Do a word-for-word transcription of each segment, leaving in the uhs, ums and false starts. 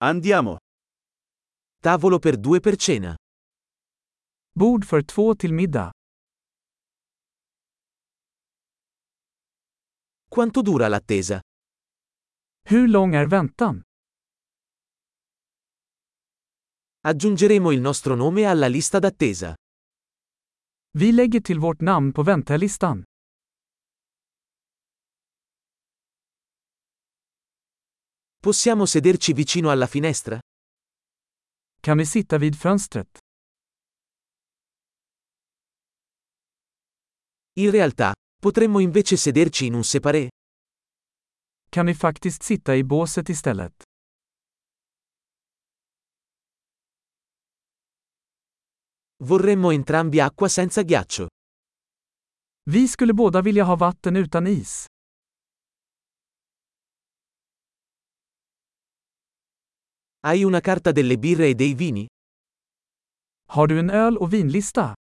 Andiamo. Tavolo per due per cena. Bord för två till middag. Quanto dura l'attesa? Hur lång är väntan? Aggiungeremo il nostro nome alla lista d'attesa. Vi lägger till vårt namn på väntelistan. Possiamo sederci vicino alla finestra? Kan vi sitta vid fönstret? In realtà, potremmo invece sederci in un separé. Kan vi faktiskt sitta i båset istället? Vorremmo entrambi acqua senza ghiaccio. Vi skulle båda vilja ha vatten utan is. Hai una carta delle birre e dei vini? Har du en öl- och vinlista?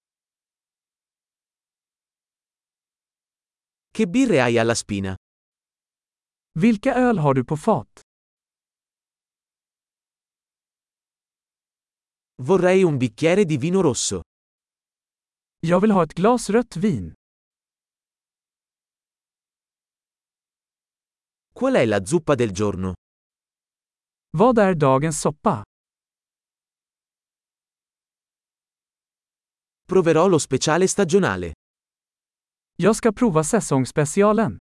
Che birre hai alla spina? Vilka öl har du på fat? Vorrei un bicchiere di vino rosso. Jag vill ha ett glas rött vin. Qual è la zuppa del giorno? Vad är dagens soppa? Proverò lo speciale stagionale. Jag ska prova säsongsspecialen.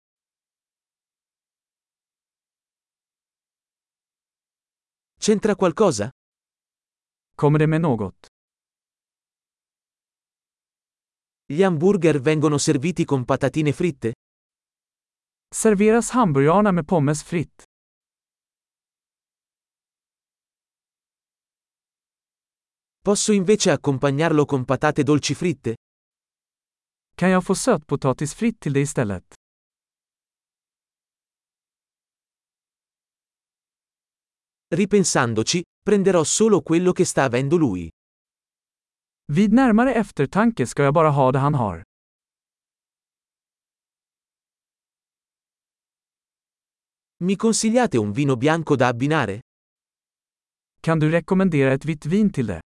C'entra qualcosa? Kommer det med något? Gli hamburger vengono serviti con patatine fritte? Serveras hamburgarna med pommes fritt? Posso invece accompagnarlo con patate dolci fritte? Kan jag få sötpotatis fritt till det istället? Ripensandoci, prenderò solo quello che sta avendo lui. Vid närmare eftertanke ska jag bara ha det han har. Mi consigliate un vino bianco da abbinare? Kan du rekommendera ett vitt vin till det?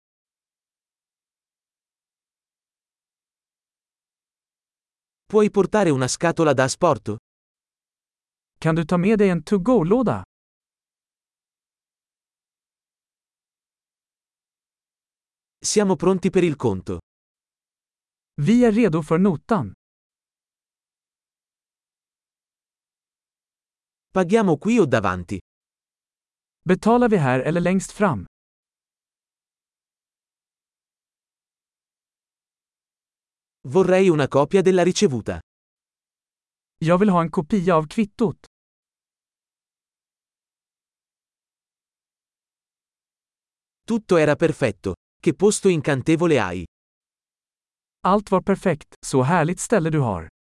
Puoi portare una scatola da asporto? Kan du ta med dig en to-go-låda? Siamo pronti per il conto. Vi är redo för notan. Paghiamo qui o davanti? Betalar vi här eller längst fram? Vorrei una copia della ricevuta. Jag vill ha en kopia av kvittot. Tutto era perfetto. Che posto incantevole hai. Allt var perfekt, så härligt ställe du har.